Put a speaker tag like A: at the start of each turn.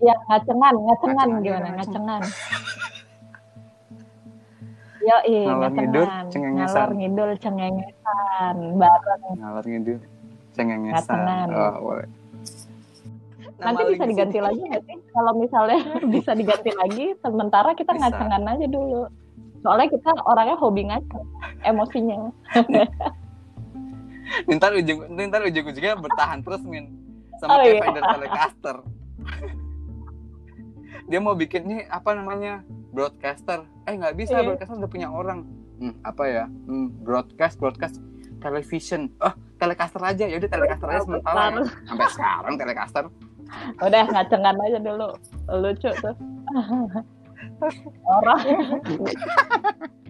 A: Ya, ngacengan gimana? Ngacengan. Yoi,
B: Ngalor ngidul
A: ngacengan.
B: cengengesan.
A: Ngalor ngidul cengengesan bareng
B: Ngalor ngidul cengengesan.
A: ngacengan.
B: Oh, boleh.
A: Nanti bisa diganti lagi nggak sih? Kalau misalnya bisa diganti lagi, sementara kita
B: Bisa.
A: ngacengan aja dulu. Soalnya kita orangnya hobi ngaceng, emosinya.
B: Ntar ujung-ujungnya bertahan terus Min sama kayak vendor Telecaster. Dia mau bikin nih apa namanya broadcaster, nggak bisa broadcaster udah punya orang. Apa ya? Broadcast television. Telecaster aja, yaudah Telecaster aja sementara. Sampai sekarang Telecaster.
A: Udah ngacengan aja dulu, lucu tuh. Orang